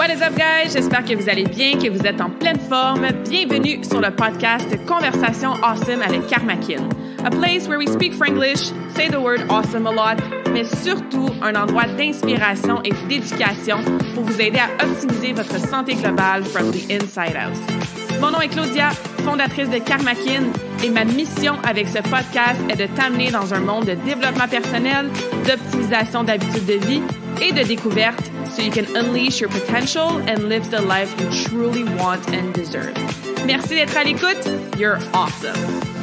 What is up, guys? J'espère que vous allez bien, que vous êtes en pleine forme. Bienvenue sur le podcast Conversation Awesome avec Karmakin. A place where we speak Franglish, say the word awesome a lot, mais surtout un endroit d'inspiration et d'éducation pour vous aider à optimiser votre santé globale from the inside out. Mon nom est Claudia, fondatrice de Karmakin, et ma mission avec ce podcast est de t'amener dans un monde de développement personnel, d'optimisation d'habitudes de vie et de découverte so you can unleash your potential and live the life you truly want and deserve. Merci d'être à l'écoute. You're awesome.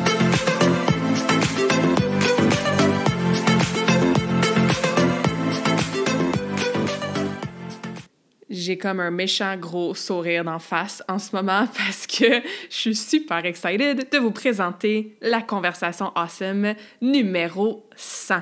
J'ai comme un méchant gros sourire d'en face en ce moment parce que je suis super excited de vous présenter la conversation awesome numéro 100.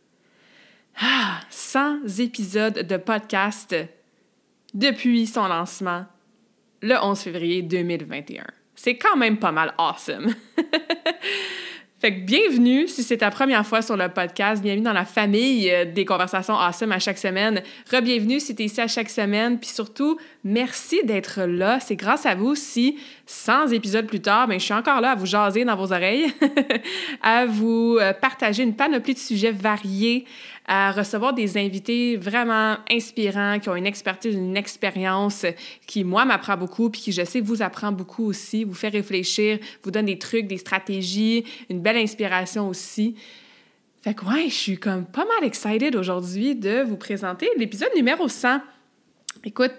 100 épisodes de podcast depuis son lancement le 11 février 2021. C'est quand même pas mal awesome. Fait que bienvenue si c'est ta première fois sur le podcast. Bienvenue dans la famille des conversations awesome à chaque semaine. Re-bienvenue si t'es ici à chaque semaine. Puis surtout, merci d'être là. C'est grâce à vous si 100 épisodes plus tard, je suis encore là à vous jaser dans vos oreilles, à vous partager une panoplie de sujets variés, à recevoir des invités vraiment inspirants, qui ont une expertise, une expérience qui, moi, m'apprend beaucoup, puis qui, je sais, vous apprend beaucoup aussi, vous fait réfléchir, vous donne des trucs, des stratégies, une belle inspiration aussi. Fait que ouais, je suis comme pas mal excited aujourd'hui de vous présenter l'épisode numéro 100. Écoute,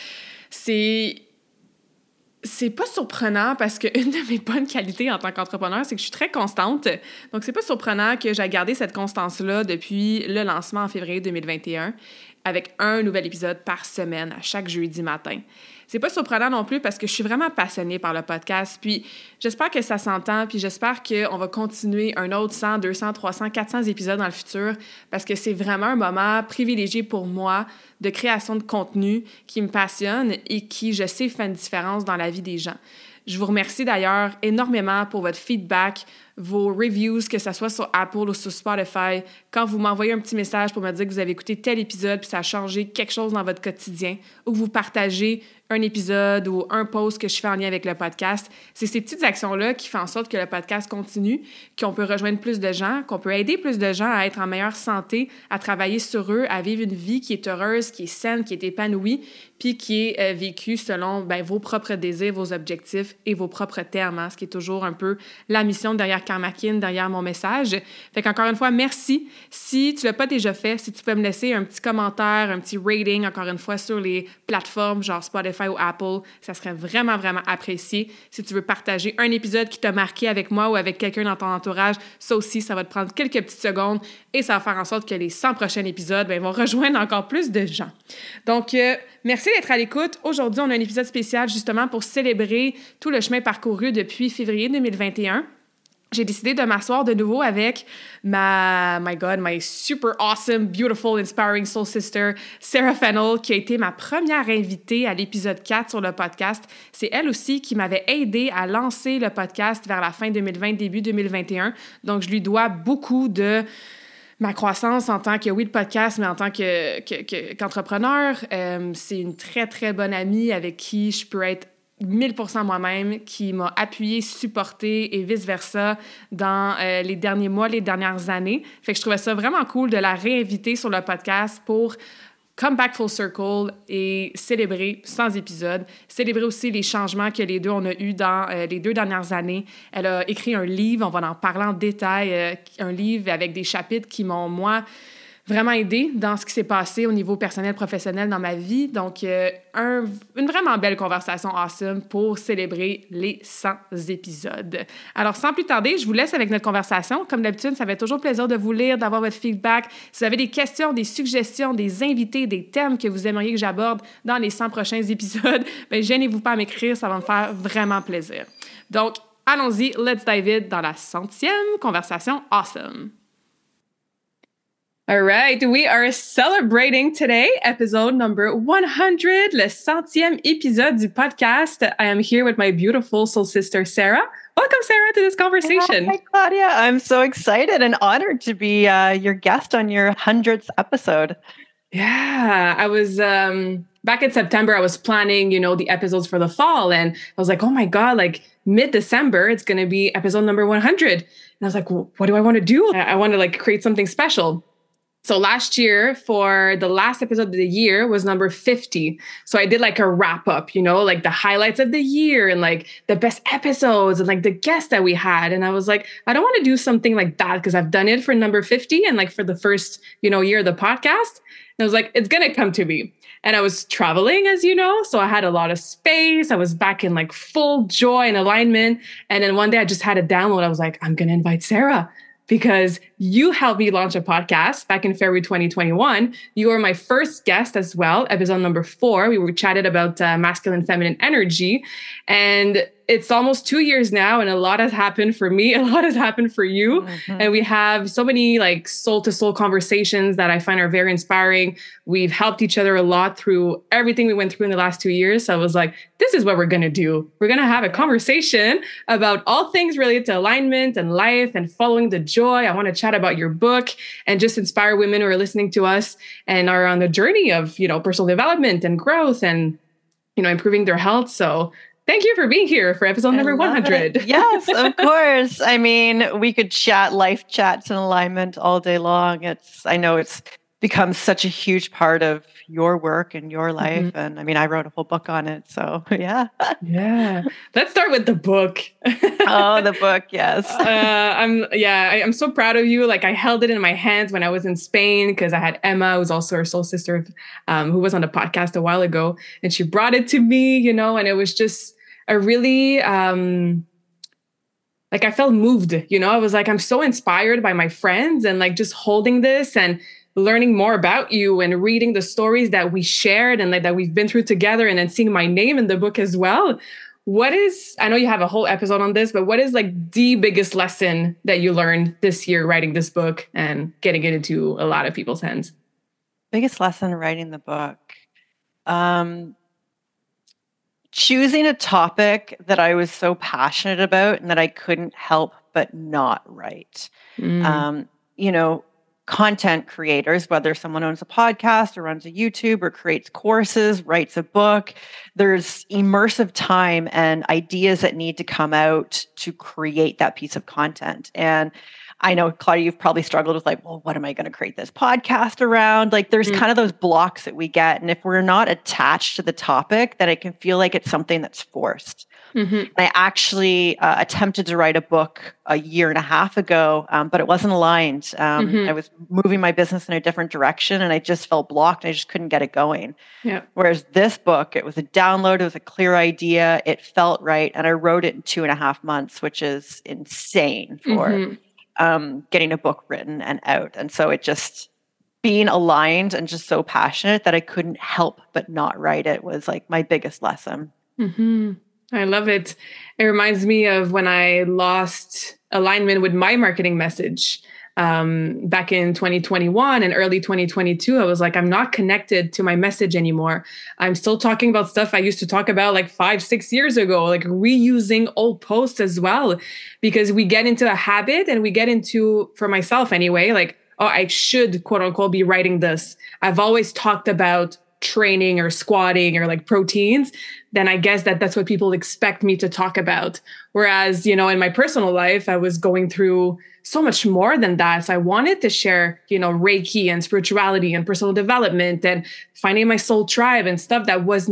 c'est pas surprenant parce qu'une de mes bonnes qualités en tant qu'entrepreneur, c'est que je suis très constante. Donc, c'est pas surprenant que j'ai gardé cette constance-là depuis le lancement en février 2021 avec un nouvel épisode par semaine à chaque jeudi matin. C'est pas surprenant non plus parce que je suis vraiment passionnée par le podcast. Puis, j'espère que ça s'entend. Puis, j'espère qu'on va continuer un autre 100, 200, 300, 400 épisodes dans le futur parce que c'est vraiment un moment privilégié pour moi de création de contenu qui me passionne et qui, je sais, fait une différence dans la vie des gens. Je vous remercie d'ailleurs énormément pour votre feedback, vos reviews, que ce soit sur Apple ou sur Spotify. Quand vous m'envoyez un petit message pour me dire que vous avez écouté tel épisode puis ça a changé quelque chose dans votre quotidien ou que vous partagez un épisode ou un post que je fais en lien avec le podcast, c'est ces petites actions-là qui font en sorte que le podcast continue, qu'on peut rejoindre plus de gens, qu'on peut aider plus de gens à être en meilleure santé, à travailler sur eux, à vivre une vie qui est heureuse, qui est saine, qui est épanouie, puis qui est vécue selon vos propres désirs, vos objectifs et vos propres termes, hein, ce qui est toujours un peu la mission derrière Karmakin, derrière mon message. Fait qu'encore une fois, merci. Si tu l'as pas déjà fait, si tu peux me laisser un petit commentaire, un petit rating, encore une fois, sur les plateformes genre Spotify ou Apple, ça serait vraiment, vraiment apprécié. Si tu veux partager un épisode qui t'a marqué avec moi ou avec quelqu'un dans ton entourage, ça aussi, ça va te prendre quelques petites secondes et ça va faire en sorte que les 100 prochains épisodes vont rejoindre encore plus de gens. Donc, merci d'être à l'écoute. Aujourd'hui, on a un épisode spécial justement pour célébrer tout le chemin parcouru depuis février 2021. J'ai décidé de m'asseoir de nouveau avec my super awesome, beautiful, inspiring soul sister, Sarah Fennell, qui a été ma première invitée à l'épisode 4 sur le podcast. C'est elle aussi qui m'avait aidé à lancer le podcast vers la fin 2020, début 2021. Donc, je lui dois beaucoup de ma croissance en tant que, oui, de podcast, mais en tant qu'entrepreneur. C'est une très, très bonne amie avec qui je peux être 1000% moi-même, qui m'a appuyée, supportée et vice-versa dans les derniers mois, les dernières années. Fait que je trouvais ça vraiment cool de la réinviter sur le podcast pour come back full circle et célébrer 100 épisodes, célébrer aussi les changements que les deux on a eus dans les 2 dernières années. Elle a écrit un livre, on va en parler en détail, un livre avec des chapitres qui m'ont, moi, vraiment aidé dans ce qui s'est passé au niveau personnel, professionnel dans ma vie. Donc, une vraiment belle conversation awesome pour célébrer les 100 épisodes. Alors, sans plus tarder, je vous laisse avec notre conversation. Comme d'habitude, ça fait toujours plaisir de vous lire, d'avoir votre feedback. Si vous avez des questions, des suggestions, des invités, des thèmes que vous aimeriez que j'aborde dans les 100 prochains épisodes, gênez-vous pas à m'écrire, ça va me faire vraiment plaisir. Donc, allons-y, let's dive in dans la 100e conversation awesome. All right, we are celebrating today, episode number 100, le 100e épisode du podcast. I am here with my beautiful soul sister, Sarah. Welcome, Sarah, to this conversation. Hi, Claudia. I'm so excited and honored to be your guest on your 100th episode. Yeah, I was back in September, I was planning, the episodes for the fall. And I was like, oh my God, like mid-December, it's going to be episode number 100. And I was like, well, what do I want to do? I want to like create something special. So last year, for the last episode of the year, was number 50. So I did like a wrap up, like the highlights of the year and like the best episodes and like the guests that we had. And I was like, I don't want to do something like that because I've done it for number 50 and like for the first, year of the podcast. And I was like, it's going to come to me. And I was traveling, as you know, so I had a lot of space. I was back in like full joy and alignment. And then one day I just had a download. I was like, I'm going to invite Sarah, because you helped me launch a podcast back in February 2021. You were my first guest as well, episode number 4. We were chatted about masculine, feminine energy. And it's almost 2 years now, and a lot has happened for me. A lot has happened for you. Mm-hmm. And we have so many like soul-to-soul conversations that I find are very inspiring. We've helped each other a lot through everything we went through in the last 2 years. So I was like, this is what we're going to do. We're going to have a conversation about all things related to alignment and life and following the joy. I want to chat about your book and just inspire women who are listening to us and are on the journey of, personal development and growth and, improving their health. So thank you for being here for episode number 100. Yes, of course. I mean, we could chat life chats and alignment all day long. I know it's become such a huge part of your work and your life. Mm-hmm. And I mean, I wrote a whole book on it. So yeah. Yeah. Let's start with the book. Oh, the book. Yes. I'm so proud of you. Like I held it in my hands when I was in Spain because I had Emma, who's also her soul sister, who was on the podcast a while ago. And she brought it to me, and it was just a really, I felt moved, I was like, I'm so inspired by my friends and like just holding this and learning more about you and reading the stories that we shared and like that we've been through together and then seeing my name in the book as well. I know you have a whole episode on this, but what is like the biggest lesson that you learned this year writing this book and getting it into a lot of people's hands? Biggest lesson writing the book. Choosing a topic that I was so passionate about and that I couldn't help but not write. Content creators, whether someone owns a podcast or runs a YouTube or creates courses, writes a book, there's immersive time and ideas that need to come out to create that piece of content. And I know, Claudia, you've probably struggled with like, well, what am I going to create this podcast around? Like there's kind of those blocks that we get. And if we're not attached to the topic, then it can feel like it's something that's forced. Mm-hmm. I actually attempted to write a book a year and a half ago, but it wasn't aligned. I was moving my business in a different direction and I just felt blocked and I just couldn't get it going. Yeah. Whereas this book, it was a download, it was a clear idea, it felt right. And I wrote it in 2.5 months, which is insane for getting a book written and out. And so it just being aligned and just so passionate that I couldn't help but not write it was like my biggest lesson. Mm-hmm. I love it. It reminds me of when I lost alignment with my marketing message back in 2021 and early 2022. I was like, I'm not connected to my message anymore. I'm still talking about stuff I used to talk about like 5-6 years ago, like reusing old posts as well, because we get into a habit and we get into, for myself anyway, like, oh, I should quote unquote be writing this. I've always talked about training or squatting or like proteins, then I guess that's what people expect me to talk about. Whereas, in my personal life, I was going through so much more than that. So I wanted to share, Reiki and spirituality and personal development and finding my soul tribe and stuff that was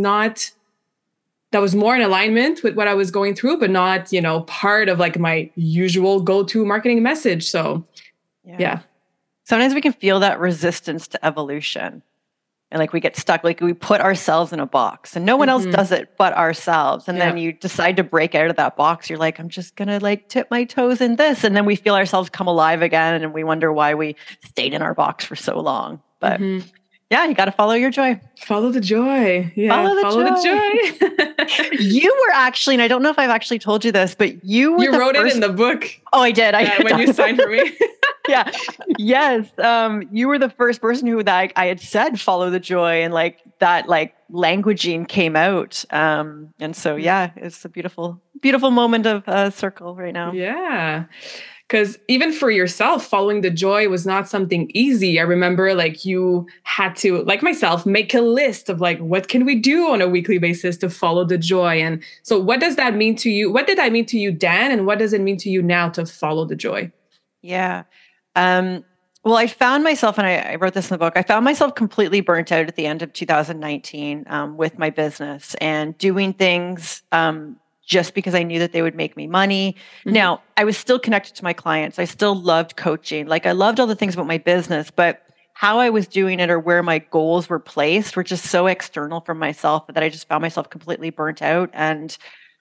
more in alignment with what I was going through, but not, part of like my usual go-to marketing message. So yeah. Sometimes we can feel that resistance to evolution. And like we get stuck, like we put ourselves in a box and no one else does it but ourselves. And then you decide to break out of that box. You're like, I'm just going to like tip my toes in this. And then we feel ourselves come alive again. And we wonder why we stayed in our box for so long. But yeah, you got to follow your joy. Follow the joy. Yeah, follow the joy. You were actually, and I don't know if I've actually told you this, but you were wrote it in the book. Oh, I did. When you signed for me. Yeah. Yes. You were the first person who I had said follow the joy, and like that like languaging came out. And so yeah, it's a beautiful, beautiful moment of circle right now. Yeah. Because even for yourself, following the joy was not something easy. I remember like you had to, like myself, make a list of like, what can we do on a weekly basis to follow the joy? And so what does that mean to you? What did that mean to you, Dan? And what does it mean to you now to follow the joy? Yeah. Well, I found myself, and I wrote this in the book, I found myself completely burnt out at the end of 2019 with my business and doing things just because I knew that they would make me money. Mm-hmm. Now, I was still connected to my clients. I still loved coaching. Like I loved all the things about my business, but how I was doing it or where my goals were placed were just so external from myself that I just found myself completely burnt out and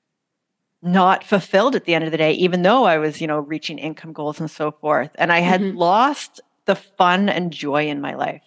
not fulfilled at the end of the day, even though I was, reaching income goals and so forth. And I had lost the fun and joy in my life.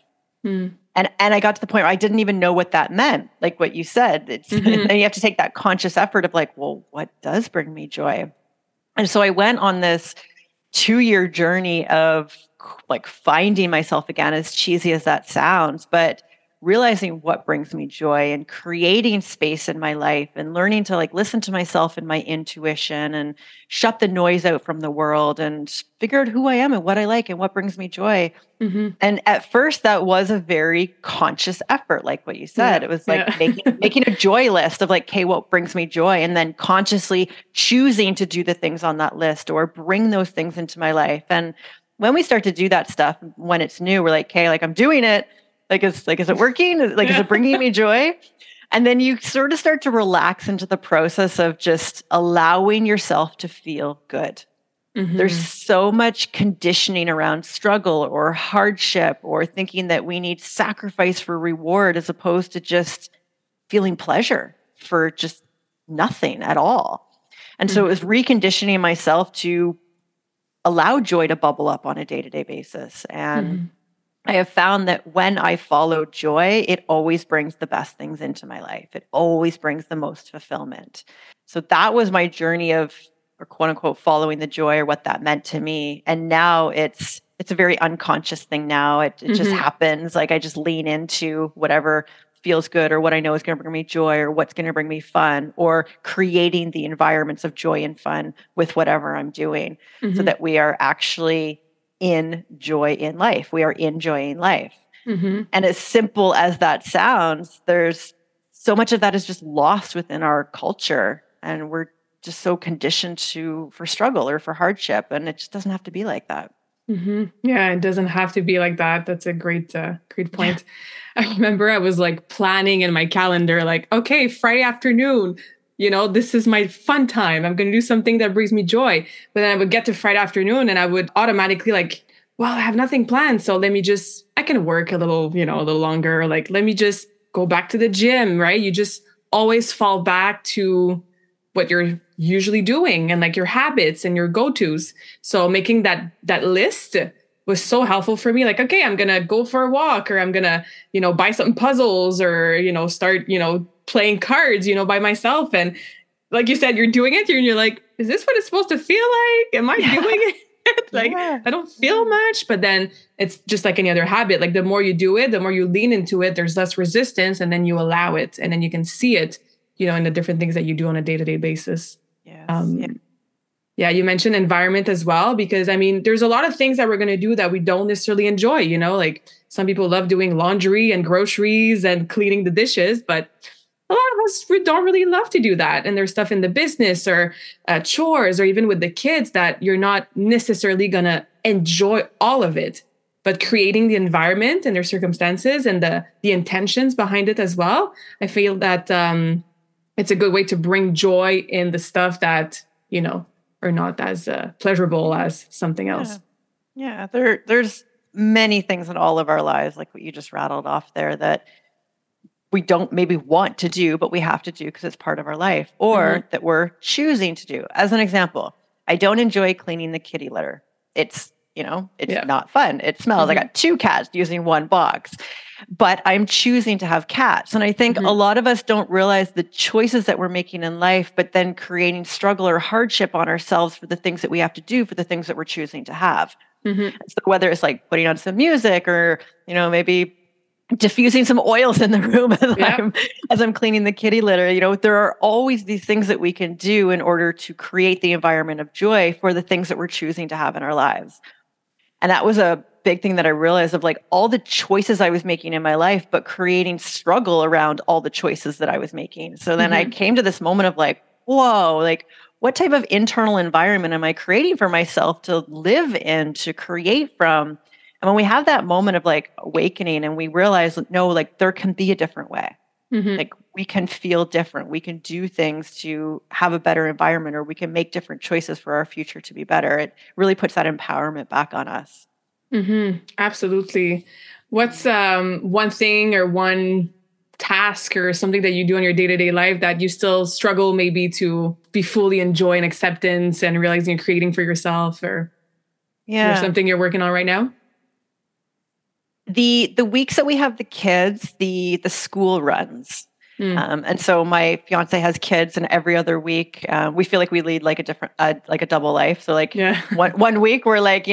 And I got to the point where I didn't even know what that meant. Like what you said, it's then you have to take that conscious effort of like, well, what does bring me joy? And so I went on this 2-year journey of like finding myself again, as cheesy as that sounds, but realizing what brings me joy and creating space in my life and learning to like listen to myself and my intuition and shut the noise out from the world and figure out who I am and what I like and what brings me joy. And at first that was a very conscious effort, like what you said. It was like making a joy list of like, okay, what brings me joy? And then consciously choosing to do the things on that list or bring those things into my life. And when we start to do that stuff, when it's new, we're like, okay, like I'm doing it. Is it working? Is it bringing me joy? And then you sort of start to relax into the process of just allowing yourself to feel good. There's so much conditioning around struggle or hardship or thinking that we need sacrifice for reward as opposed to just feeling pleasure for just nothing at all. And so it was reconditioning myself to allow joy to bubble up on a day-to-day basis. And I have found that when I follow joy, it always brings the best things into my life. It always brings the most fulfillment. So that was my journey of, or quote unquote, following the joy or what that meant to me. And now it's a very unconscious thing now. It just happens. Like I just lean into whatever feels good or what I know is going to bring me joy or what's going to bring me fun or creating the environments of joy and fun with whatever I'm doing so that we are actually in joy in life. We are enjoying life. And as simple as that sounds, there's so much of that is just lost within our culture. And we're just so conditioned for struggle or for hardship. And it just doesn't have to be like that. Yeah, it doesn't have to be like that. That's a great point. I remember I was like planning in my calendar, like, okay, Friday afternoon, this is my fun time. I'm going to do something that brings me joy. But then I would get to Friday afternoon and I would automatically like, well, I have nothing planned. So I can work a little longer. Like, let me just go back to the gym, right? You just always fall back to what you're usually doing and like your habits and your go-tos. So making that list was so helpful for me. Like, okay, I'm going to go for a walk or I'm going to, buy some puzzles or, start, playing cards, by myself. And like you said, you're doing it and you're like, is this what it's supposed to feel like? Am I doing it? I don't feel much, but then it's just like any other habit. Like the more you do it, the more you lean into it, there's less resistance and then you allow it and then you can see it, in the different things that you do on a day-to-day basis. Yeah, you mentioned environment as well, because there's a lot of things that we're going to do that we don't necessarily enjoy, like some people love doing laundry and groceries and cleaning the dishes, but a lot of us don't really love to do that. And there's stuff in the business or chores or even with the kids that you're not necessarily going to enjoy all of it, but creating the environment and their circumstances and the intentions behind it as well. I feel that it's a good way to bring joy in the stuff that, are not as pleasurable as something else. Yeah, there's many things in all of our lives, like what you just rattled off there, that we don't maybe want to do, but we have to do because it's part of our life, or that we're choosing to do. As an example, I don't enjoy cleaning the kitty litter. It's not fun. It smells. I got 2 cats using 1 box. but I'm choosing to have cats. And I think a lot of us don't realize the choices that we're making in life, but then creating struggle or hardship on ourselves for the things that we have to do, for the things that we're choosing to have. So whether it's like putting on some music or, maybe diffusing some oils in the room as I'm cleaning the kitty litter, there are always these things that we can do in order to create the environment of joy for the things that we're choosing to have in our lives. And that was a big thing that I realized of like all the choices I was making in my life, but creating struggle around all the choices that I was making. So then I came to this moment of like, whoa, like what type of internal environment am I creating for myself to live in, to create from? And when we have that moment of like awakening and we realize, no, like there can be a different way. Like we can feel different. We can do things to have a better environment, or we can make different choices for our future to be better. It really puts that empowerment back on us. Absolutely. What's one thing or one task or something that you do in your day-to-day life that you still struggle maybe to be fully enjoy and acceptance and realizing you're creating for yourself, or something you're working on right now? The weeks that we have the kids, the school runs. And so my fiance has kids, and every other week we feel like we lead like a different, like a double life. So like one week we're like,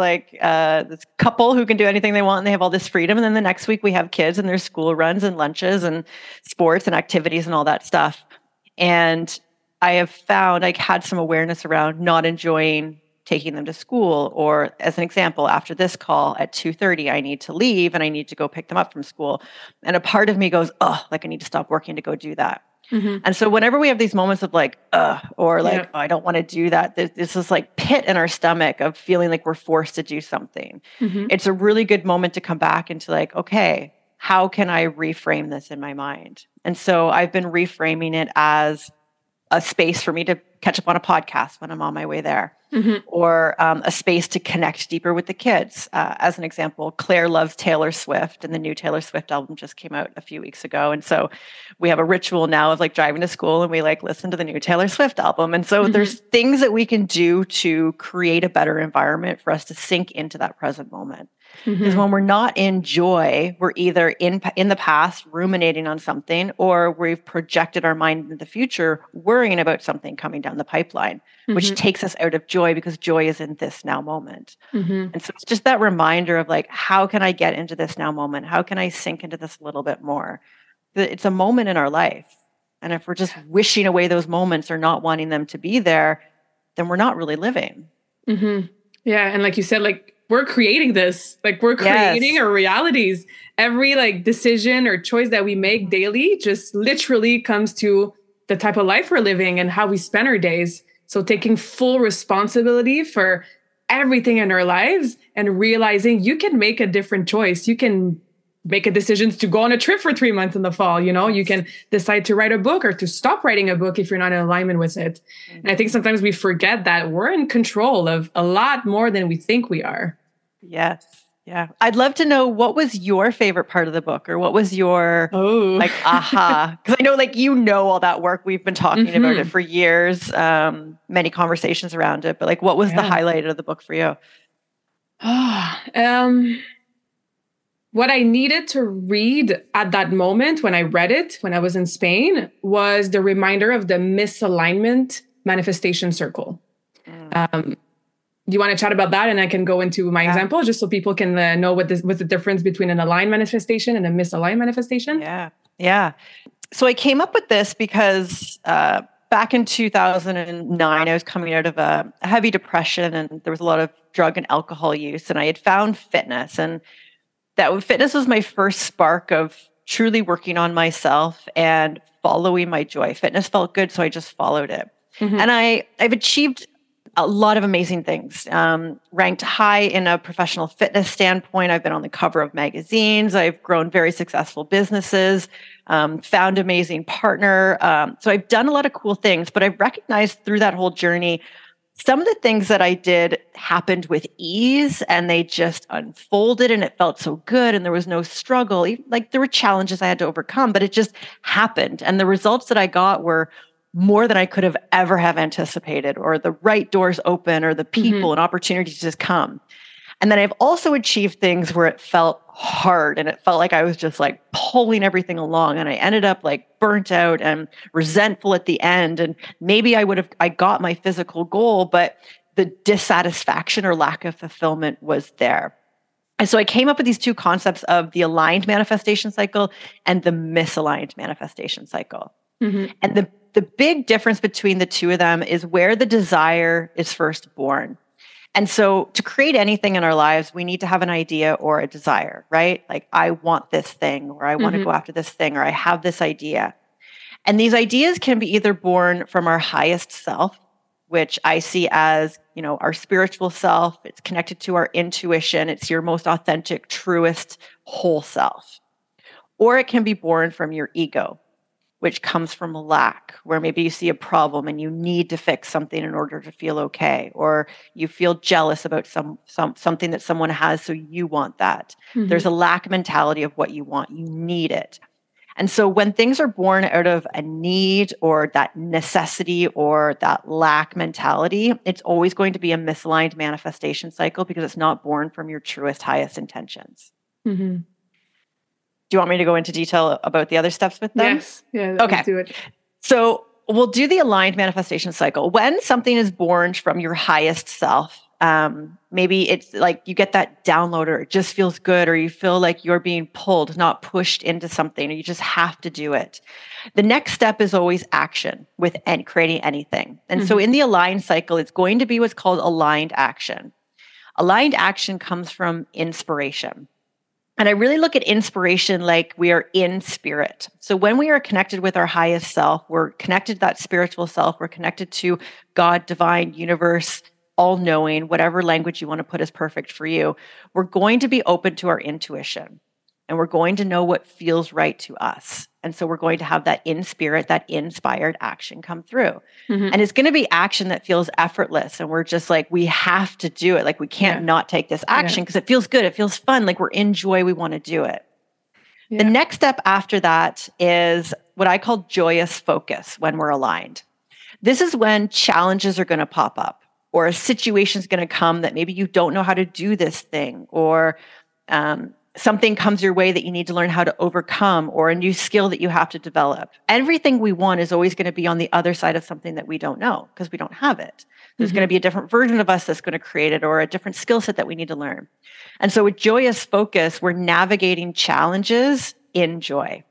this couple who can do anything they want and they have all this freedom. And then the next week we have kids and there's school runs and lunches and sports and activities and all that stuff. And I have found I had some awareness around not enjoying taking them to school, or as an example, after this call at 2:30, I need to leave and I need to go pick them up from school. And a part of me goes, oh, like I need to stop working to go do that. And so whenever we have these moments of like, or like, oh, I don't want to do that, there's this like pit in our stomach of feeling like we're forced to do something. It's a really good moment to come back into like, okay, how can I reframe this in my mind? And so I've been reframing it as a space for me to catch up on a podcast when I'm on my way there, or a space to connect deeper with the kids. As an example, Claire loves Taylor Swift, and the new Taylor Swift album just came out a few weeks ago. And so we have a ritual now of like driving to school and we like listen to the new Taylor Swift album. And so there's things that we can do to create a better environment for us to sink into that present moment. Because when we're not in joy, we're either in the past ruminating on something, or we've projected our mind into the future worrying about something coming down the pipeline, which takes us out of joy, because joy is in this now moment. And so it's just that reminder of like, how can I get into this now moment? How can I sink into this a little bit more? It's a moment in our life. And if we're just wishing away those moments or not wanting them to be there, then we're not really living. Yeah. And like you said, like, we're creating this, like we're creating our realities. Every like decision or choice that we make daily just literally comes to the type of life we're living and how we spend our days. So taking full responsibility for everything in our lives and realizing you can make a different choice. You can make a decision to go on a trip for 3 months in the fall. You can decide to write a book or to stop writing a book if you're not in alignment with it. And I think sometimes we forget that we're in control of a lot more than we think we are. Yes. Yeah. I'd love to know, what was your favorite part of the book, or what was your like aha? Because I know like all that work. We've been talking about it for years, many conversations around it, but like what was the highlight of the book for you? What I needed to read at that moment when I read it, when I was in Spain, was the reminder of the misalignment manifestation circle. Do you want to chat about that? And I can go into my example just so people can know what's the difference between an aligned manifestation and a misaligned manifestation. Yeah. So I came up with this because back in 2009, I was coming out of a heavy depression, and there was a lot of drug and alcohol use, and I had found fitness, and that fitness was my first spark of truly working on myself and following my joy. Fitness felt good, so I just followed it. And I've achieved a lot of amazing things. Ranked high in a professional fitness standpoint. I've been on the cover of magazines. I've grown very successful businesses, found amazing partner. So I've done a lot of cool things, but I've recognized through that whole journey, some of the things that I did happened with ease, and they just unfolded, and it felt so good, and there was no struggle. Like there were challenges I had to overcome, but it just happened. And the results that I got were more than I could have ever have anticipated, or the right doors open, or the people and opportunities just come. And then I've also achieved things where it felt hard and it felt like I was just like pulling everything along. And I ended up like burnt out and resentful at the end. And maybe I got my physical goal, but the dissatisfaction or lack of fulfillment was there. And so I came up with these two concepts of the aligned manifestation cycle and the misaligned manifestation cycle. Mm-hmm. And the big difference between the two of them is where the desire is first born. And so to create anything in our lives, we need to have an idea or a desire, right? Like, I want this thing, or I want to go after this thing, or I have this idea. And these ideas can be either born from our highest self, which I see as, our spiritual self. It's connected to our intuition. It's your most authentic, truest, whole self. Or it can be born from your ego, which comes from lack, where maybe you see a problem and you need to fix something in order to feel okay, or you feel jealous about something that someone has, so you want that. Mm-hmm. There's a lack mentality of what you want. You need it. And so when things are born out of a need or that necessity or that lack mentality, it's always going to be a misaligned manifestation cycle because it's not born from your truest, highest intentions. Mm-hmm. Do you want me to go into detail about the other steps with them? Yes. Yeah. Okay. Let's do it. So we'll do the aligned manifestation cycle. When something is born from your highest self, maybe it's like you get that download, or it just feels good, or you feel like you're being pulled, not pushed into something, or you just have to do it. The next step is always action with creating anything. And so in the aligned cycle, it's going to be what's called aligned action. Aligned action comes from inspiration. And I really look at inspiration like we are in spirit. So when we are connected with our highest self, we're connected to that spiritual self, we're connected to God, divine, universe, all-knowing, whatever language you want to put is perfect for you. We're going to be open to our intuition, and we're going to know what feels right to us. And so we're going to have that in spirit, that inspired action come through. Mm-hmm. And it's going to be action that feels effortless. And we're just like, we have to do it. Like, we can't not take this action because it feels good. It feels fun. Like, we're in joy. We want to do it. Yeah. The next step after that is what I call joyous focus when we're aligned. This is when challenges are going to pop up, or a situation is going to come that maybe you don't know how to do this thing, or something comes your way that you need to learn how to overcome, or a new skill that you have to develop. Everything we want is always going to be on the other side of something that we don't know because we don't have it. There's going to be a different version of us that's going to create it, or a different skill set that we need to learn. And so with joyous focus, we're navigating challenges in joy.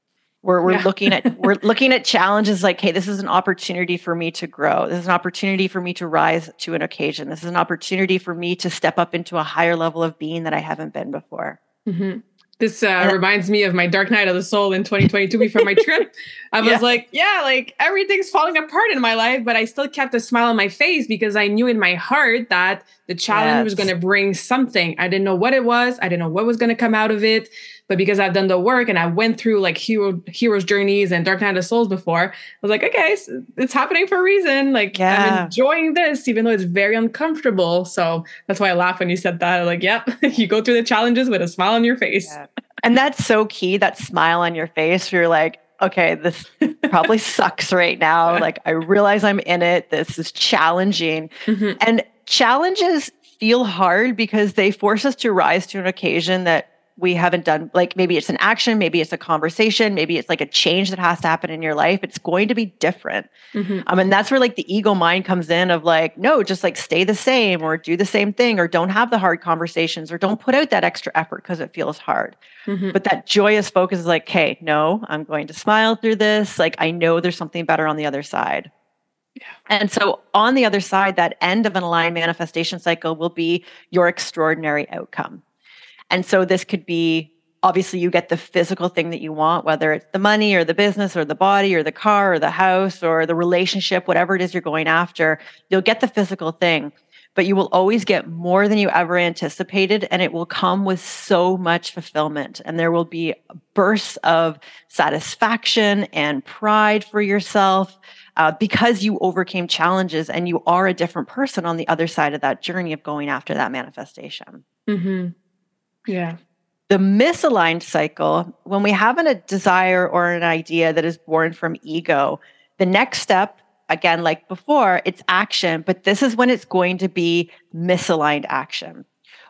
We're looking at challenges like, hey, this is an opportunity for me to grow. This is an opportunity for me to rise to an occasion. This is an opportunity for me to step up into a higher level of being that I haven't been before. Mm-hmm. This reminds me of my dark night of the soul in 2022 before my trip. I was like everything's falling apart in my life, but I still kept a smile on my face because I knew in my heart that the challenge was going to bring something. I didn't know what it was. I didn't know what was going to come out of it. But because I've done the work and I went through like hero's journeys and dark night of the souls before, I was like, okay, it's happening for a reason. Like, I'm enjoying this, even though it's very uncomfortable. So that's why I laugh when you said that. I'm like, yep, you go through the challenges with a smile on your face. Yeah. And that's so key, that smile on your face. You're like, okay, this probably sucks right now. Like, I realize I'm in it. This is challenging. Mm-hmm. And challenges feel hard because they force us to rise to an occasion that we haven't done. Like, maybe it's an action, maybe it's a conversation, maybe it's like a change that has to happen in your life. It's going to be different. Mm-hmm. And that's where like the ego mind comes in of like, no, just like stay the same, or do the same thing, or don't have the hard conversations, or don't put out that extra effort because it feels hard. Mm-hmm. But that joyous focus is like, hey, no, I'm going to smile through this. Like, I know there's something better on the other side. Yeah. And so on the other side, that end of an aligned manifestation cycle will be your extraordinary outcome. And so this could be, obviously you get the physical thing that you want, whether it's the money or the business or the body or the car or the house or the relationship, whatever it is you're going after, you'll get the physical thing, but you will always get more than you ever anticipated. And it will come with so much fulfillment. And there will be bursts of satisfaction and pride for yourself because you overcame challenges and you are a different person on the other side of that journey of going after that manifestation. Mm-hmm. Yeah. The misaligned cycle, when we have a desire or an idea that is born from ego, the next step, again, like before, it's action, but this is when it's going to be misaligned action.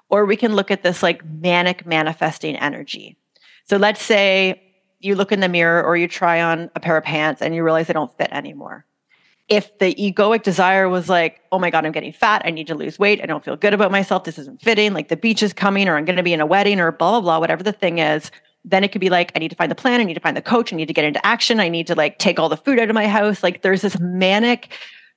Or we can look at this like manic manifesting energy. So let's say you look in the mirror or you try on a pair of pants and you realize they don't fit anymore. If the egoic desire was like, oh my God, I'm getting fat, I need to lose weight, I don't feel good about myself, this isn't fitting, like the beach is coming, or I'm going to be in a wedding, or blah, blah, blah, whatever the thing is, then it could be like, I need to find the plan, I need to find the coach, I need to get into action, I need to like take all the food out of my house. Like there's this manic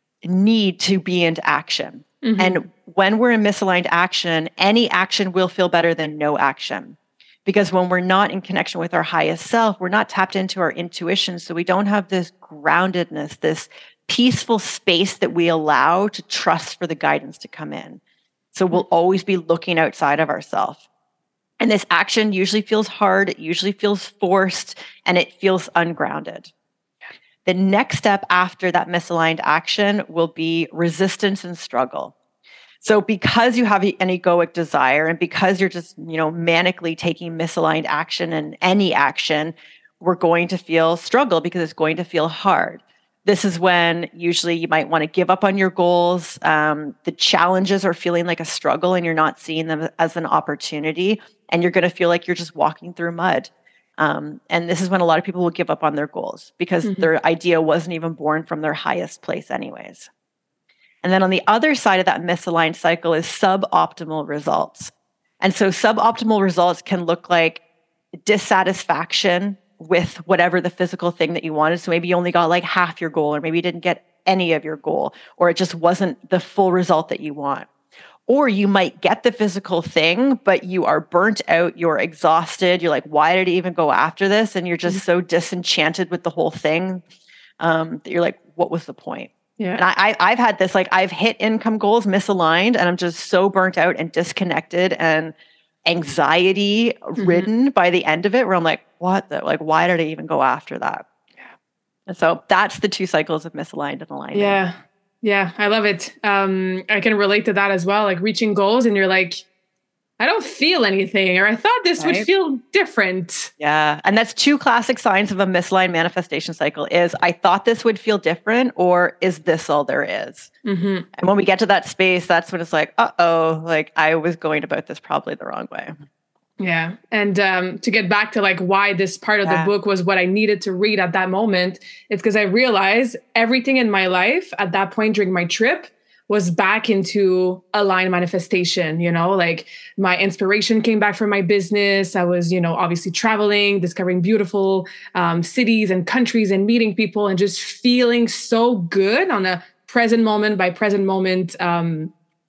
need to be into action. Mm-hmm. And when we're in misaligned action, any action will feel better than no action. Because when we're not in connection with our highest self, we're not tapped into our intuition. So we don't have this groundedness, this peaceful space that we allow to trust for the guidance to come in. So we'll always be looking outside of ourselves. And this action usually feels hard, it usually feels forced, and it feels ungrounded. The next step after that misaligned action will be resistance and struggle. So because you have an egoic desire and because you're just, manically taking misaligned action and any action, we're going to feel struggle because it's going to feel hard. This is when usually you might want to give up on your goals. The challenges are feeling like a struggle and you're not seeing them as an opportunity. And you're going to feel like you're just walking through mud. And this is when a lot of people will give up on their goals because their idea wasn't even born from their highest place anyways. And then on the other side of that misaligned cycle is suboptimal results. And so suboptimal results can look like dissatisfaction with whatever the physical thing that you wanted. So maybe you only got like half your goal, or maybe you didn't get any of your goal, or it just wasn't the full result that you want. Or you might get the physical thing, but you are burnt out, you're exhausted, you're like, why did I even go after this? And you're just so disenchanted with the whole thing that you're like, what was the point? Yeah. And I've had this, like I've hit income goals misaligned and I'm just so burnt out and disconnected and anxiety ridden by the end of it, where I'm like, why did I even go after that? Yeah. And so that's the two cycles of misaligned and alignment. Yeah. Yeah. I love it. I can relate to that as well. Like reaching goals and you're like, I don't feel anything, or I thought this would feel different. Yeah. And that's two classic signs of a misaligned manifestation cycle is I thought this would feel different, or is this all there is? And when we get to that space, that's when it's like, like I was going about this probably the wrong way. Yeah. And to get back to like why this part of the book was what I needed to read at that moment, it's because I realized everything in my life at that point during my trip was back into aligned manifestation, like my inspiration came back from my business. I was, obviously traveling, discovering beautiful cities and countries and meeting people and just feeling so good on a present moment by present moment kind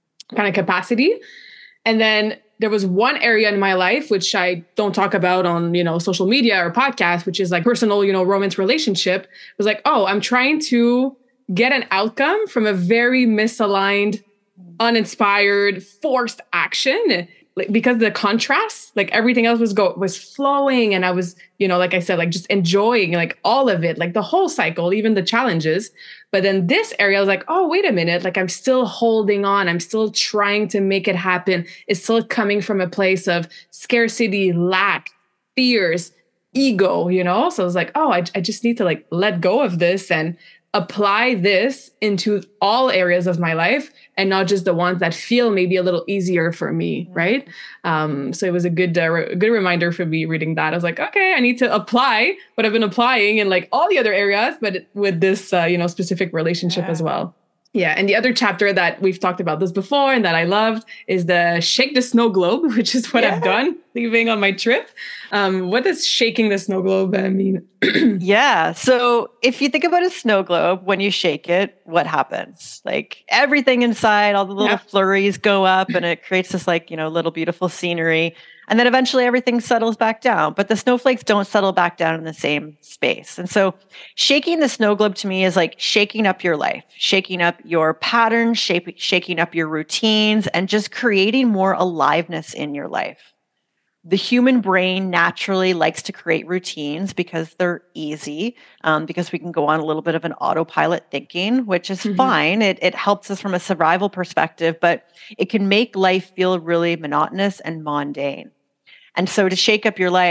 of capacity. And then there was one area in my life, which I don't talk about on, social media or podcasts, which is like personal, romance relationship. It was like, I'm trying to get an outcome from a very misaligned, uninspired, forced action. Like, because the contrast, like everything else was flowing. And I was, like I said, like just enjoying like all of it, like the whole cycle, even the challenges. But then this area, I was like, oh, wait a minute. Like I'm still holding on. I'm still trying to make it happen. It's still coming from a place of scarcity, lack, fears, ego, So I was like, I just need to like let go of this and apply this into all areas of my life and not just the ones that feel maybe a little easier for me, right? So it was a good reminder for me reading that. I was like, okay, I need to apply what I've been applying in like all the other areas, but with this, specific relationship as well. Yeah. And the other chapter that we've talked about this before and that I loved is the Shake the Snow Globe, which is what I've done leaving on my trip. What does shaking the snow globe mean? Yeah. So if you think about a snow globe, when you shake it, what happens? Like everything inside, all the little flurries go up and it creates this like, little beautiful scenery. And then eventually everything settles back down, but the snowflakes don't settle back down in the same space. And so shaking the snow globe to me is like shaking up your life, shaking up your patterns, shaking up your routines, and just creating more aliveness in your life. The human brain naturally likes to create routines because they're easy, because we can go on a little bit of an autopilot thinking, which is fine. It helps us from a survival perspective, but it can make life feel really monotonous and mundane. And so to shake up your life,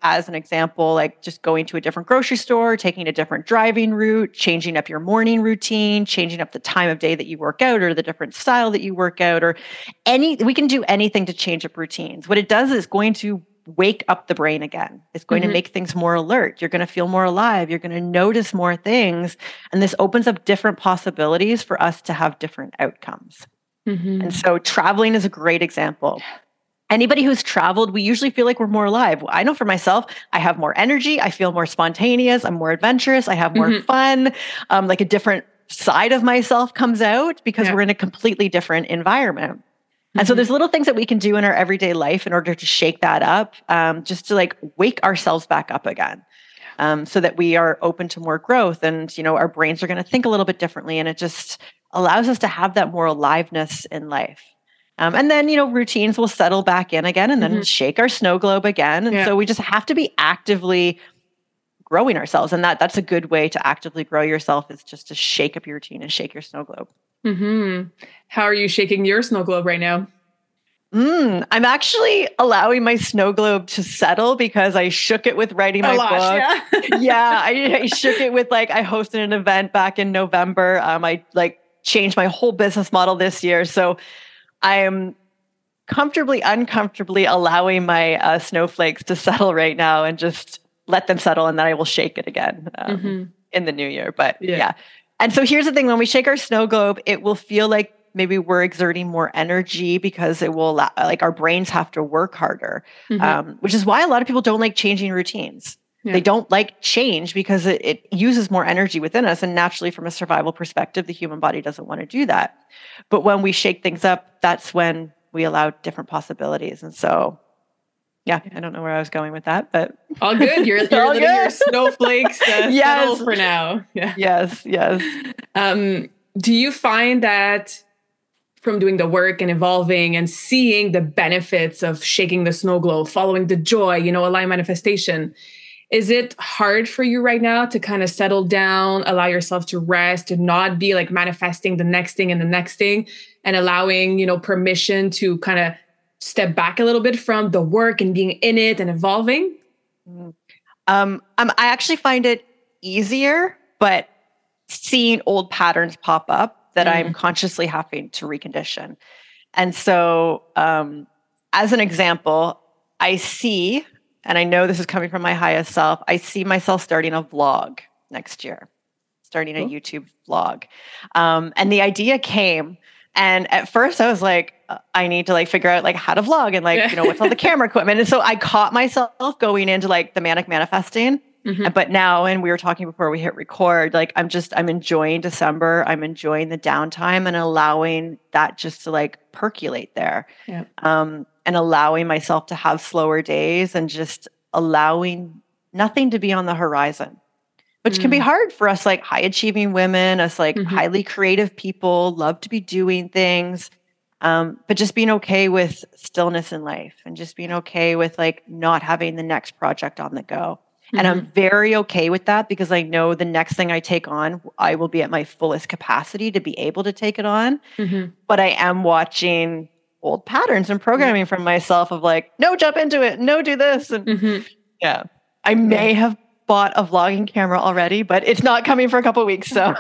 as an example, like just going to a different grocery store, taking a different driving route, changing up your morning routine, changing up the time of day that you work out or the different style that you work out, or we can do anything to change up routines. What it does is going to wake up the brain again. It's going to make things more alert. You're going to feel more alive. You're going to notice more things. And this opens up different possibilities for us to have different outcomes. And so traveling is a great example. Anybody who's traveled, we usually feel like we're more alive. I know for myself, I have more energy. I feel more spontaneous. I'm more adventurous. I have more fun. Like a different side of myself comes out because we're in a completely different environment. And so there's little things that we can do in our everyday life in order to shake that up, just to like wake ourselves back up again, so that we are open to more growth. And, you know, our brains are going to think a little bit differently. And it just allows us to have that more aliveness in life. And then, you know, routines will settle back in again and then shake our snow globe again. And so we just have to be actively growing ourselves. And that's a good way to actively grow yourself, is just to shake up your routine and shake your snow globe. How are you shaking your snow globe right now? I'm actually allowing my snow globe to settle because I shook it with writing my book. I shook it with I hosted an event back in November. I changed my whole business model this year. So I am uncomfortably allowing my snowflakes to settle right now and just let them settle, and then I will shake it again in the new year. But yeah. And so here's the thing: when we shake our snow globe, it will feel like maybe we're exerting more energy because it will allow, our brains have to work harder, which is why a lot of people don't like changing routines. They don't like change because it uses more energy within us. And naturally, from a survival perspective, the human body doesn't want to do that. But when we shake things up, that's when we allow different possibilities. And so, I don't know where I was going with that, but all good. You're letting your snowflakes settle for now. Yes. Do you find that from doing the work and evolving and seeing the benefits of shaking the snow globe, following the joy, aligned manifestation, is it hard for you right now to kind of settle down, allow yourself to rest, to not be manifesting the next thing and the next thing, and allowing, permission to kind of step back a little bit from the work and being in it and evolving? I actually find it easier, but seeing old patterns pop up that I'm consciously having to recondition. And so, as an example, I see, and I know this is coming from my highest self, I see myself starting a vlog next year, starting a YouTube vlog. And the idea came, and at first I was like, I need to figure out how to vlog and what's all the camera equipment. And so I caught myself going into the manic manifesting. But now, and we were talking before we hit record, I'm enjoying December. I'm enjoying the downtime and allowing that just to percolate there. And allowing myself to have slower days and just allowing nothing to be on the horizon, which can be hard for us, high achieving women, us highly creative people, love to be doing things. But just being okay with stillness in life and just being okay with not having the next project on the go. And I'm very okay with that because I know the next thing I take on, I will be at my fullest capacity to be able to take it on. But I am watching old patterns and programming from myself of no, jump into it. No, do this. And I may have bought a vlogging camera already, but it's not coming for a couple of weeks. So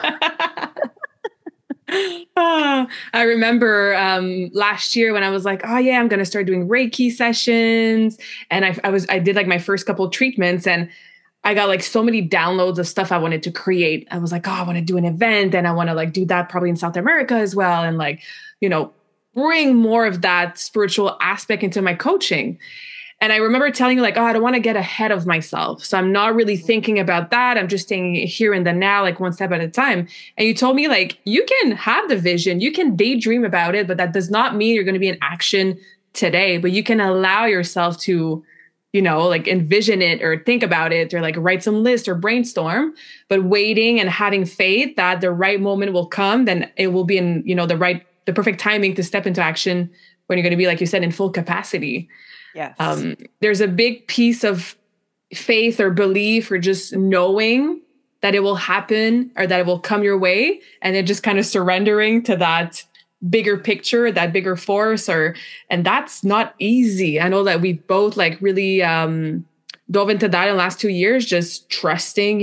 I remember last year when I was I'm going to start doing Reiki sessions. And I did my first couple of treatments, and I got so many downloads of stuff I wanted to create. I was I want to do an event, and I want to do that probably in South America as well. And bring more of that spiritual aspect into my coaching. And I remember telling you I don't want to get ahead of myself. So I'm not really thinking about that. I'm just staying here in the now, one step at a time. And you told me you can have the vision, you can daydream about it, but that does not mean you're going to be in action today, but you can allow yourself to, envision it or think about it or write some list or brainstorm, but waiting and having faith that the right moment will come, then it will be in, the perfect timing to step into action when you're going to be, like you said, in full capacity. Yes. There's a big piece of faith or belief or just knowing that it will happen or that it will come your way, and then just kind of surrendering to that bigger picture, that bigger force, and that's not easy. I know that we both really dove into that in the last 2 years, just trusting,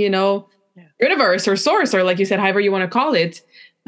universe or source, or like you said, however you want to call it.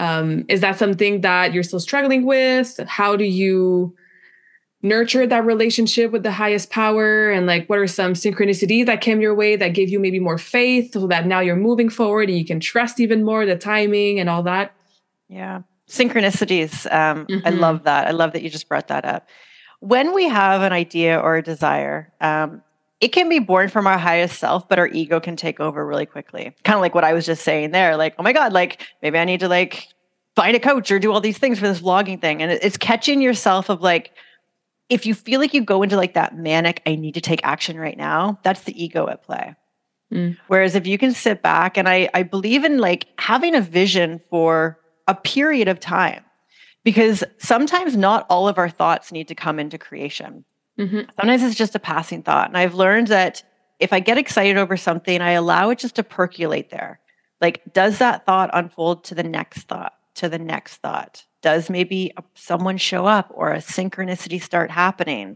Is that something that you're still struggling with? How do you nurture that relationship with the highest power? And like, what are some synchronicities that came your way that gave you maybe more faith so that now you're moving forward and you can trust even more the timing and all that? Yeah. Synchronicities. I love that. I love that you just brought that up. When we have an idea or a desire, it can be born from our highest self, but our ego can take over really quickly. Kind of like what I was just saying there. Like, oh my God, like maybe I need to like find a coach or do all these things for this vlogging thing. And it's catching yourself of like, if you feel like you go into like that manic, I need to take action right now, that's the ego at play. Whereas if you can sit back, and I believe in like having a vision for a period of time, because sometimes not all of our thoughts need to come into creation. Sometimes it's just a passing thought. And I've learned that if I get excited over something, I allow it just to percolate there. Like, does that thought unfold to the next thought, to the next thought? Does maybe someone show up or a synchronicity start happening?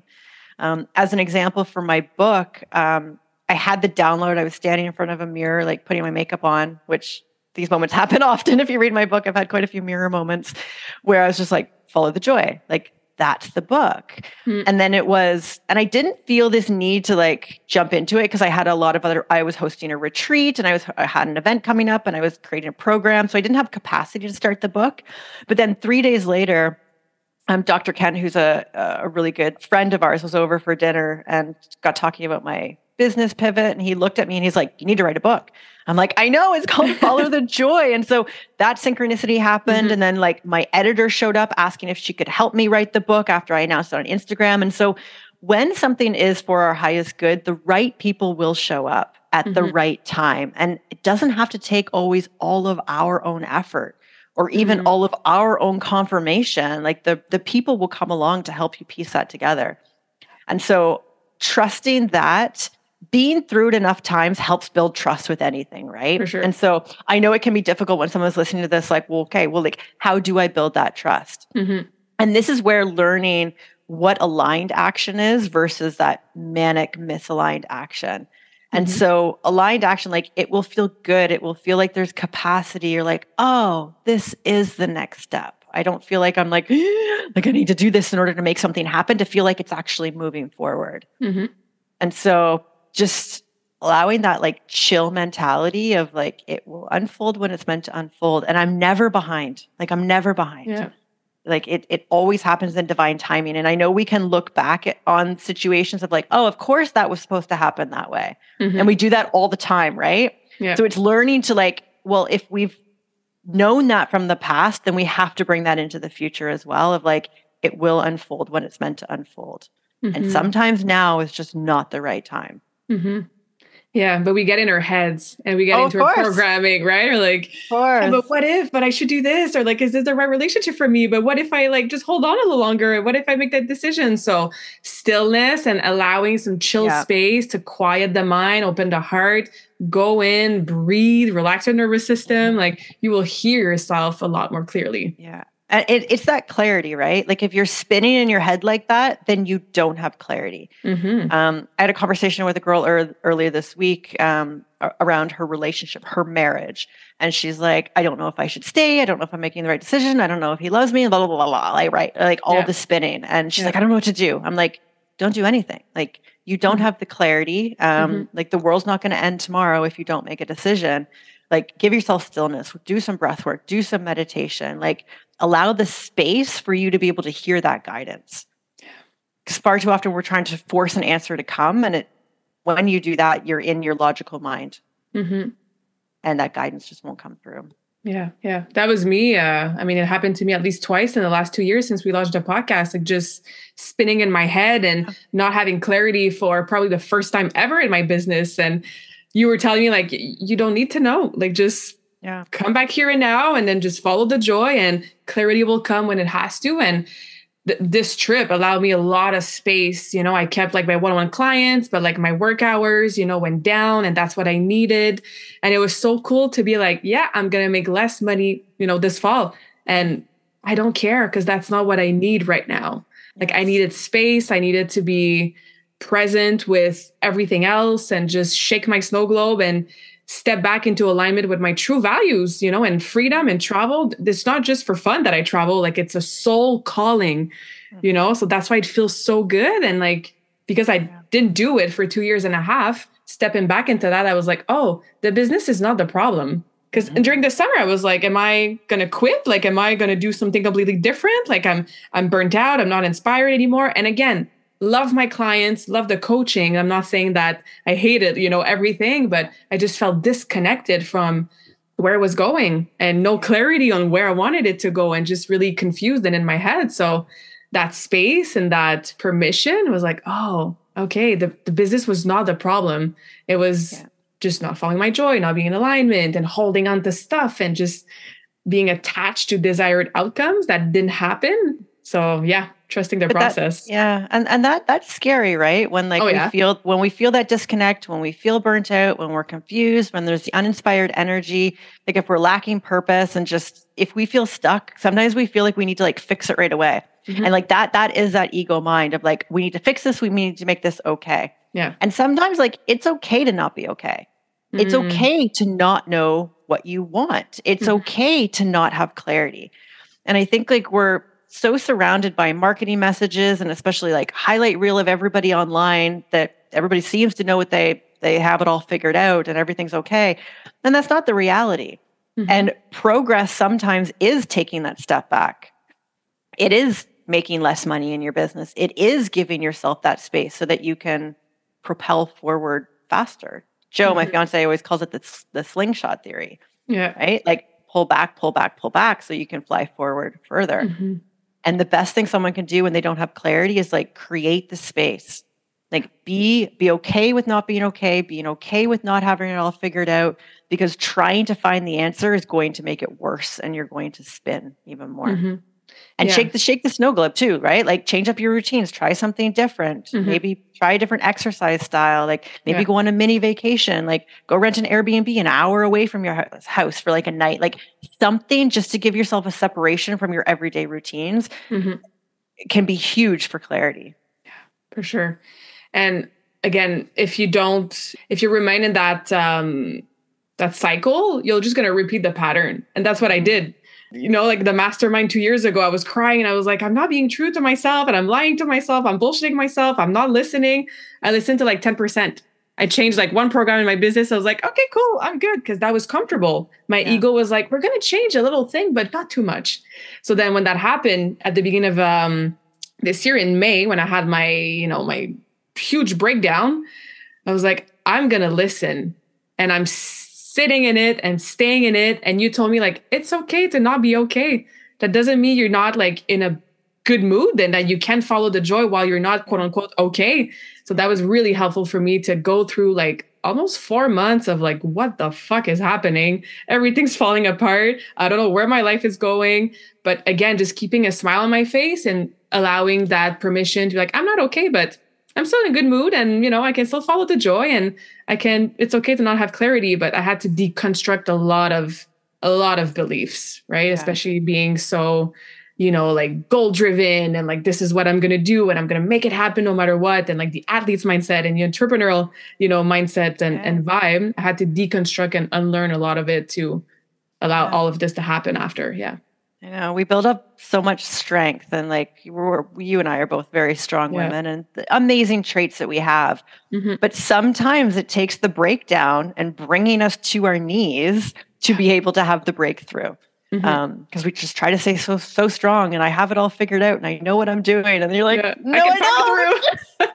As an example for my book, I had the download. I was standing in front of a mirror, like putting my makeup on, which these moments happen often. If you read my book, I've had quite a few mirror moments where I was just like, follow the joy. Like, that's the book. And then it was, and I didn't feel this need to like jump into it because I had a lot of I was hosting a retreat and I had an event coming up and I was creating a program. So I didn't have capacity to start the book. But then 3 days later, Dr. Ken, who's a really good friend of ours, was over for dinner and got talking about my business pivot. And he looked at me and he's like, you need to write a book. I'm like, I know, it's called Follow the Joy. And so that synchronicity happened. And then like my editor showed up asking if she could help me write the book after I announced it on Instagram. And so when something is for our highest good, the right people will show up at the right time. And it doesn't have to take always all of our own effort or even all of our own confirmation. Like the people will come along to help you piece that together. And so trusting that, being through it enough times helps build trust with anything, right? For sure. And so I know it can be difficult when someone's listening to this, like, well, okay, well, like, how do I build that trust? And this is where learning what aligned action is versus that manic misaligned action. And so aligned action, like, it will feel good. It will feel like there's capacity. You're like, oh, this is the next step. I don't feel like I'm like I need to do this in order to make something happen, to feel like it's actually moving forward. And so just allowing that like chill mentality of like, it will unfold when it's meant to unfold. And I'm never behind. Like, I'm never behind. Yeah. Like it always happens in divine timing. And I know we can look back on situations of like, oh, of course that was supposed to happen that way. And we do that all the time, right? Yeah. So it's learning to like, well, if we've known that from the past, then we have to bring that into the future as well, of like, it will unfold when it's meant to unfold. And sometimes now is just not the right time. Yeah, but we get in our heads and we get into our programming, right? Or like, yeah, but what if, but I should do this? Or like, is this the right relationship for me? But what if I like just hold on a little longer? What if I make that decision? So stillness and allowing some chill space to quiet the mind, open the heart, go in, breathe, relax your nervous system. Like, you will hear yourself a lot more clearly. Yeah. And it's that clarity, right? Like, if you're spinning in your head like that, then you don't have clarity. I had a conversation with a girl earlier this week around her relationship, her marriage. And she's like, I don't know if I should stay. I don't know if I'm making the right decision. I don't know if he loves me, blah, blah, blah, blah. Like, right. Like all the spinning. And she's like, I don't know what to do. I'm like, don't do anything. Like, you don't have the clarity. Like, the world's not going to end tomorrow if you don't make a decision. Like, give yourself stillness, do some breath work, do some meditation, like allow the space for you to be able to hear that guidance. Because far too often we're trying to force an answer to come. And when you do that, you're in your logical mind. And that guidance just won't come through. Yeah. Yeah. That was me. I mean, it happened to me at least twice in the last 2 years since we launched a podcast, like just spinning in my head and not having clarity for probably the first time ever in my business. And you were telling me like, you don't need to know, like, just come back here and now, and then just follow the joy, and clarity will come when it has to. And this trip allowed me a lot of space. You know, I kept like my one-on-one clients, but like my work hours, went down, and that's what I needed. And it was so cool to be like, yeah, I'm going to make less money, this fall. And I don't care, because that's not what I need right now. Like, I needed space. I needed to be present with everything else and just shake my snow globe and step back into alignment with my true values, and freedom and travel. It's not just for fun that I travel, like it's a soul calling, so that's why it feels so good. And like, because I didn't do it for 2.5 years, stepping back into that, I was like, oh, the business is not the problem. Because during the summer, I was like, am I going to quit? Like, am I going to do something completely different? Like I'm burnt out. I'm not inspired anymore. And again, love my clients, love the coaching. I'm not saying that I hated, everything, but I just felt disconnected from where it was going and no clarity on where I wanted it to go and just really confused and in my head. So that space and that permission was like, oh, okay, the business was not the problem. It was just not following my joy, not being in alignment and holding on to stuff and just being attached to desired outcomes that didn't happen. So yeah, trusting the process. And that's scary, right? When we feel that disconnect, when we feel burnt out, when we're confused, when there's the uninspired energy, like if we're lacking purpose and just if we feel stuck, sometimes we feel like we need to like fix it right away. And like that is that ego mind of like, we need to fix this, we need to make this okay. Yeah. And sometimes like it's okay to not be okay. It's okay to not know what you want. It's okay to not have clarity. And I think like we're so surrounded by marketing messages and especially like highlight reel of everybody online that everybody seems to know what they have it all figured out and everything's okay. And that's not the reality. And progress sometimes is taking that step back. It is making less money in your business. It is giving yourself that space so that you can propel forward faster. Joe, my fiance, always calls it the slingshot theory. Yeah. Right? Like pull back, pull back, pull back so you can fly forward further. And the best thing someone can do when they don't have clarity is like create the space. Like be okay with not being okay, being okay with not having it all figured out, because trying to find the answer is going to make it worse and you're going to spin even more. And shake the snow globe too, right? Like change up your routines, try something different. Maybe try a different exercise style. Like maybe go on a mini vacation, like go rent an Airbnb an hour away from your house for like a night, like something just to give yourself a separation from your everyday routines can be huge for clarity. Yeah, for sure. And again, if you're reminded that, that cycle, you're just going to repeat the pattern. And that's what I did. Like the mastermind 2 years ago, I was crying and I was like, I'm not being true to myself and I'm lying to myself. I'm bullshitting myself. I'm not listening. I listened to like 10%. I changed like one program in my business. I was like, okay, cool. I'm good. Cause that was comfortable. My ego was like, we're going to change a little thing, but not too much. So then when that happened at the beginning of this year in May, when I had my, my huge breakdown, I was like, I'm going to listen. And I'm sitting in it and staying in it. And you told me like, it's okay to not be okay. That doesn't mean you're not like in a good mood and that you can't follow the joy while you're not quote unquote okay. So that was really helpful for me to go through like almost 4 months of like, what the fuck is happening? Everything's falling apart. I don't know where my life is going. But again, just keeping a smile on my face and allowing that permission to be like, I'm not okay, but I'm still in a good mood and, I can still follow the joy and it's okay to not have clarity, but I had to deconstruct a lot of beliefs, right? Yeah. Especially being so, like goal driven and like, this is what I'm going to do and I'm going to make it happen no matter what. And like the athlete's mindset and the entrepreneurial, mindset and vibe, I had to deconstruct and unlearn a lot of it to allow all of this to happen after. Yeah. We build up so much strength and like you and I are both very strong women and the amazing traits that we have. But sometimes it takes the breakdown and bringing us to our knees to be able to have the breakthrough. Because we just try to say so strong and I have it all figured out and I know what I'm doing. And then you're like, no, I don't.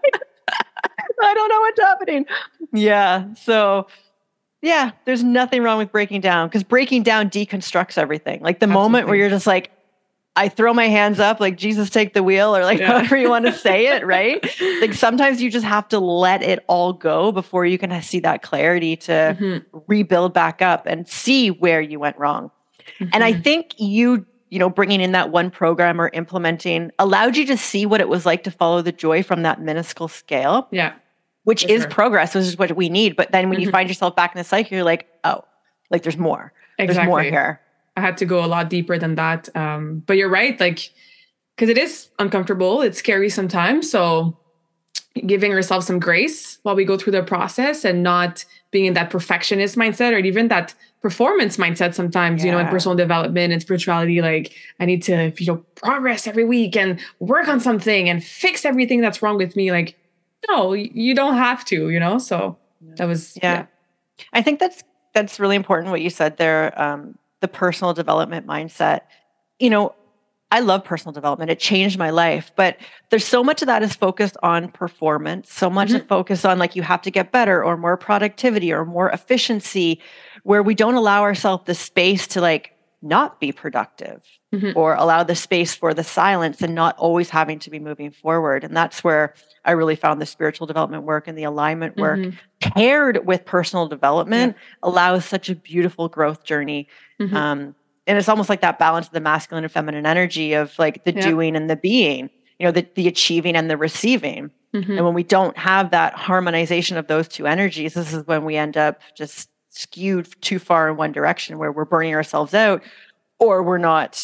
I don't know what's happening. Yeah. So yeah, there's nothing wrong with breaking down because breaking down deconstructs everything. Like the moment where you're just like, I throw my hands up, like Jesus take the wheel or like however you want to say it, right? Like sometimes you just have to let it all go before you can see that clarity to rebuild back up and see where you went wrong. And I think you bringing in that one program or implementing allowed you to see what it was like to follow the joy from that minuscule scale. Yeah. Which is progress, which is what we need. But then when you find yourself back in the cycle, you're like, oh, like there's more. Exactly. There's more here. I had to go a lot deeper than that. But you're right, like, because it is uncomfortable. It's scary sometimes. So giving ourselves some grace while we go through the process and not being in that perfectionist mindset or even that performance mindset sometimes, in personal development and spirituality. Like, I need to, progress every week and work on something and fix everything that's wrong with me. Like, no, you don't have to, so that was, yeah. I think that's really important what you said there, the personal development mindset. I love personal development. It changed my life, but there's so much of that is focused on performance, so much of focus on like you have to get better or more productivity or more efficiency, where we don't allow ourselves the space to like not be productive or allow the space for the silence and not always having to be moving forward. And that's where I really found the spiritual development work and the alignment work paired with personal development allows such a beautiful growth journey. And it's almost like that balance of the masculine and feminine energy of like the doing and the being, the achieving and the receiving. And when we don't have that harmonization of those two energies, this is when we end up just skewed too far in one direction where we're burning ourselves out or we're not,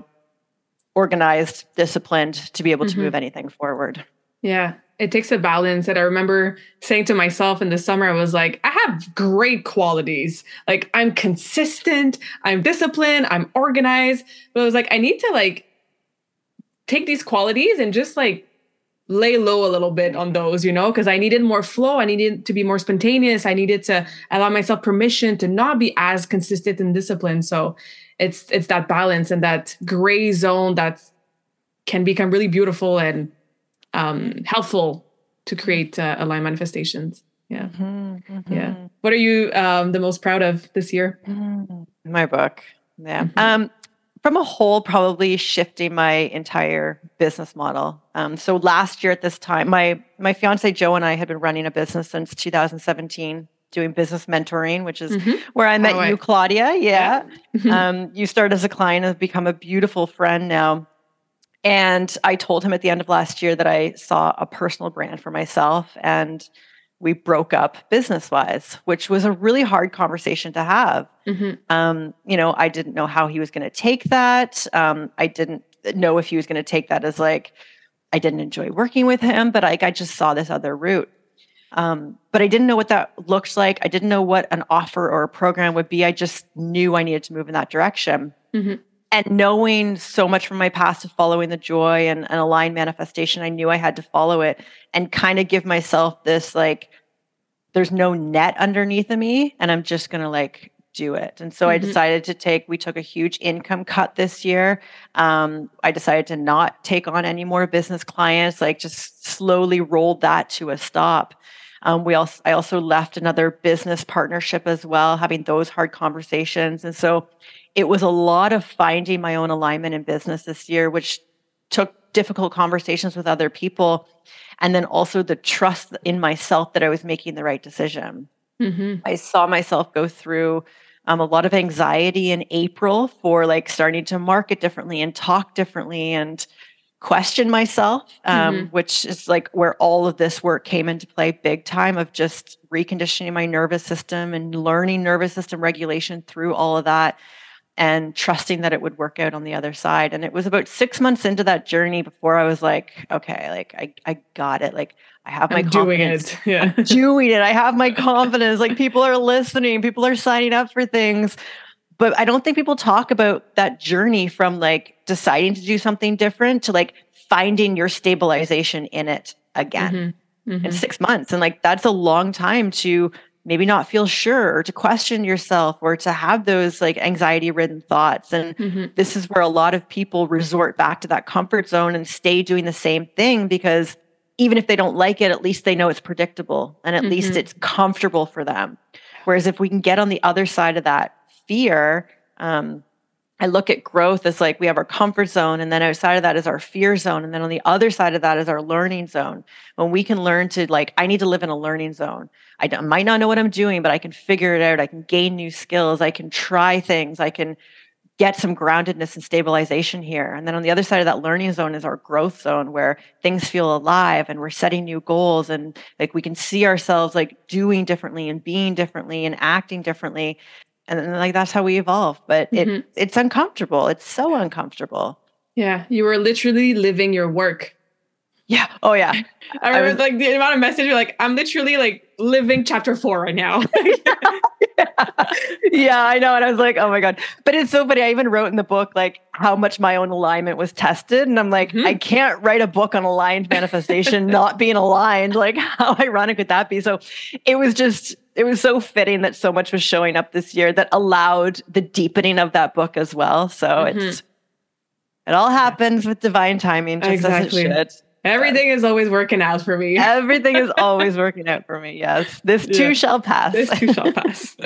organized, disciplined to be able to move anything forward. Yeah. It takes a balance. And I remember saying to myself in the summer, I was like, I have great qualities. Like, I'm consistent, I'm disciplined, I'm organized. But I was like, I need to like take these qualities and just like lay low a little bit on those, because I needed more flow. I needed to be more spontaneous. I needed to allow myself permission to not be as consistent and disciplined. So it's that balance and that gray zone that can become really beautiful and helpful to create aligned manifestations. Yeah. Yeah. What are you the most proud of this year? My book. Yeah. From a whole, probably shifting my entire business model. So last year at this time, my fiance Joe and I had been running a business since 2017, doing business mentoring, which is where I met you, Claudia. Yeah. You started as a client and have become a beautiful friend now. And I told him at the end of last year that I saw a personal brand for myself, and we broke up business-wise, which was a really hard conversation to have. I didn't know how he was going to take that. I didn't know if he was going to take that as like, I didn't enjoy working with him, but I just saw this other route. But I didn't know what that looked like. I didn't know what an offer or a program would be. I just knew I needed to move in that direction. And knowing so much from my past of following the joy and aligned manifestation, I knew I had to follow it and kind of give myself this, like, there's no net underneath of me and I'm just going to like do it. And so I decided we took a huge income cut this year. I decided to not take on any more business clients, like just slowly rolled that to a stop. I also left another business partnership as well, having those hard conversations. And so it was a lot of finding my own alignment in business this year, which took difficult conversations with other people. And then also the trust in myself that I was making the right decision. I saw myself go through a lot of anxiety in April for like starting to market differently and talk differently and question myself, which is like where all of this work came into play big time, of just reconditioning my nervous system and learning nervous system regulation through all of that and trusting that it would work out on the other side. And it was about 6 months into that journey before I was like, okay, like I got it. Like I have my confidence. Doing it. Yeah. I'm doing it. I have my confidence. Like people are listening, people are signing up for things. But I don't think people talk about that journey from like deciding to do something different to like finding your stabilization in it again in 6 months. And like, that's a long time to maybe not feel sure or to question yourself or to have those like anxiety ridden thoughts. And this is where a lot of people resort back to that comfort zone and stay doing the same thing, because even if they don't like it, at least they know it's predictable and at least it's comfortable for them. Whereas if we can get on the other side of that fear, I look at growth as like we have our comfort zone, and then outside of that is our fear zone. And then on the other side of that is our learning zone. When we can learn to like, I need to live in a learning zone. I might not know what I'm doing, but I can figure it out. I can gain new skills. I can try things. I can get some groundedness and stabilization here. And then on the other side of that learning zone is our growth zone, where things feel alive and we're setting new goals and like we can see ourselves like doing differently and being differently and acting differently. And then like that's how we evolve. But it's uncomfortable. It's so uncomfortable. Yeah. You were literally living your work. Yeah. Oh, yeah. I remember like the amount of messages, like, I'm literally like living chapter 4 right now. Yeah, I know. And I was like, oh my God. But it's so funny. I even wrote in the book, like how much my own alignment was tested. And I'm like, I can't write a book on aligned manifestation, not being aligned. Like how ironic would that be? So it was so fitting that so much was showing up this year that allowed the deepening of that book as well. So it all happens with divine timing, just as it should. Everything is always working out for me. Everything is always working out for me. Yes. This too shall pass. This too shall pass.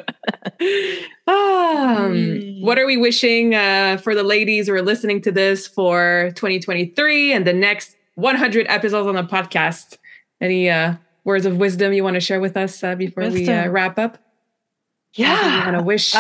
What are we wishing for the ladies who are listening to this for 2023 and the next 100 episodes on the podcast? Any words of wisdom you want to share with us before we wrap up? Yeah. You want to wish?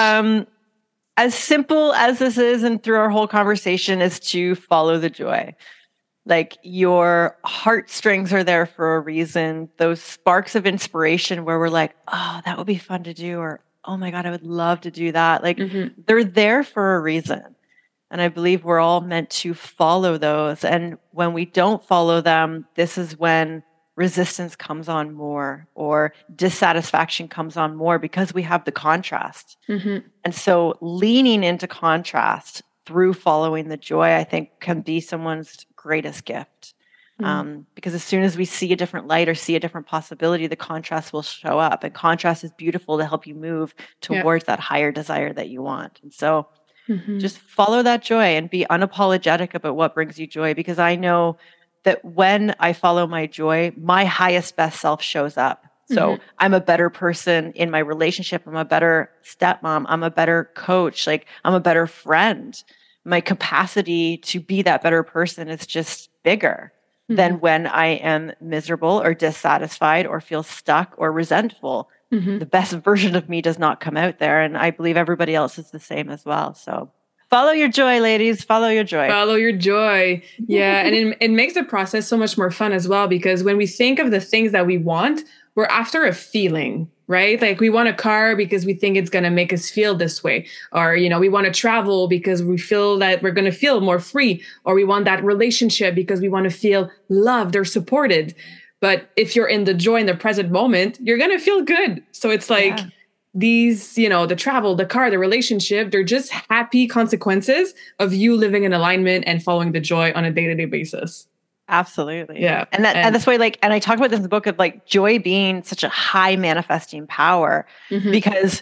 As simple as this is, and through our whole conversation, is to follow the joy. Like your heartstrings are there for a reason. Those sparks of inspiration where we're like, oh, that would be fun to do, or oh my God, I would love to do that. Like they're there for a reason. And I believe we're all meant to follow those. And when we don't follow them, this is when resistance comes on more, or dissatisfaction comes on more, because we have the contrast. And so leaning into contrast through following the joy, I think, can be someone's greatest gift. Because as soon as we see a different light or see a different possibility, the contrast will show up. And contrast is beautiful to help you move towards that higher desire that you want. And so just follow that joy and be unapologetic about what brings you joy. Because I know that when I follow my joy, my highest, best self shows up. So I'm a better person in my relationship. I'm a better stepmom. I'm a better coach. Like I'm a better friend. My capacity to be that better person is just bigger than when I am miserable or dissatisfied or feel stuck or resentful. The best version of me does not come out there. And I believe everybody else is the same as well. So follow your joy, ladies. Follow your joy. Follow your joy. Yeah. And it makes the process so much more fun as well, because when we think of the things that we want, we're after a feeling, right? Like we want a car because we think it's going to make us feel this way. Or, we want to travel because we feel that we're going to feel more free. Or we want that relationship because we want to feel loved or supported. But if you're in the joy in the present moment, you're going to feel good. So it's like these, the travel, the car, the relationship, they're just happy consequences of you living in alignment and following the joy on a day-to-day basis. Absolutely. Yeah. And that's why, and I talk about this in the book of like joy being such a high manifesting power, because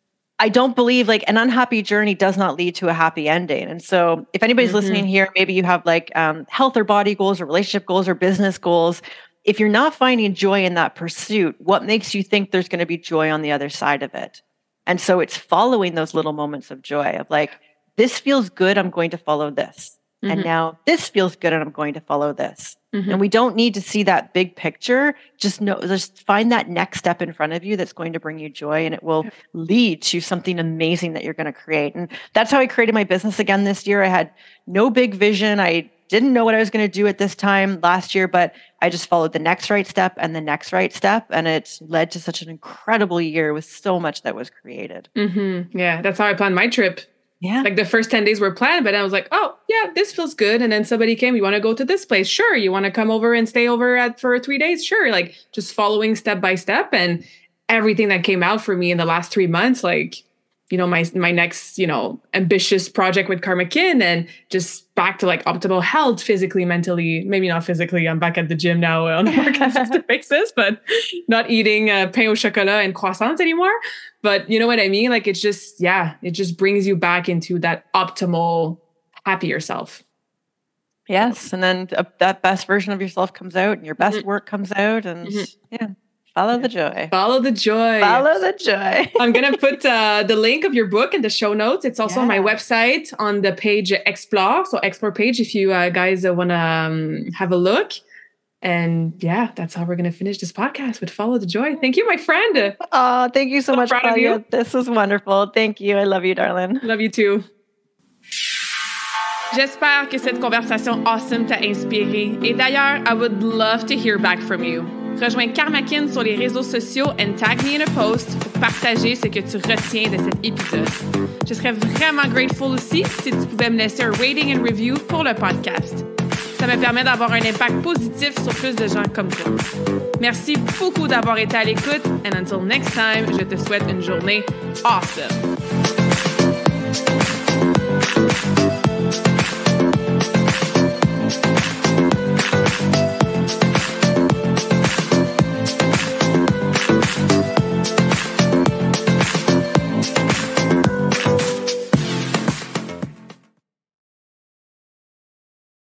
I don't believe like an unhappy journey does not lead to a happy ending. And so if anybody's listening here, maybe you have like health or body goals or relationship goals or business goals. If you're not finding joy in that pursuit, what makes you think there's going to be joy on the other side of it? And so it's following those little moments of joy of like, this feels good, I'm going to follow this. And now this feels good and I'm going to follow this. And we don't need to see that big picture. Just find that next step in front of you that's going to bring you joy, and it will lead to something amazing that you're going to create. And that's how I created my business again this year. I had no big vision. I didn't know what I was going to do at this time last year, but I just followed the next right step and the next right step. And it led to such an incredible year with so much that was created. Yeah, that's how I planned my trip. Yeah. Like the first 10 days were planned, but I was like, oh yeah, this feels good. And then somebody came, you want to go to this place? Sure. You want to come over and stay over for 3 days? Sure. Like just following step by step, and everything that came out for me in the last 3 months, like, my next, ambitious project with Karma Kin, and just back to like optimal health, physically, mentally, maybe not physically. I'm back at the gym now on a more consistent basis, but not eating pain au chocolat and croissants anymore. But you know what I mean? Like, it's just, it just brings you back into that optimal, happier self. Yes. And then that best version of yourself comes out, and your best work comes out, and follow the joy. Follow the joy. Follow the joy. I'm going to put the link of your book in the show notes. It's also on my website on the page Explore. So Explore page, if you guys want to have a look. And that's how we're going to finish this podcast with Follow the Joy. Thank you, my friend. Oh, thank you so much, Claudia. This was wonderful. Thank you. I love you, darling. Love you too. J'espère que cette conversation awesome t'a inspiré. Et d'ailleurs, I would love to hear back from you. Rejoins Karma Kin sur les réseaux sociaux and tag me in a post pour partager ce que tu retiens de cet épisode. Je serais vraiment grateful aussi si tu pouvais me laisser un rating and review pour le podcast. Ça me permet d'avoir un impact positif sur plus de gens comme toi. Merci beaucoup d'avoir été à l'écoute. And until next time, je te souhaite une journée awesome.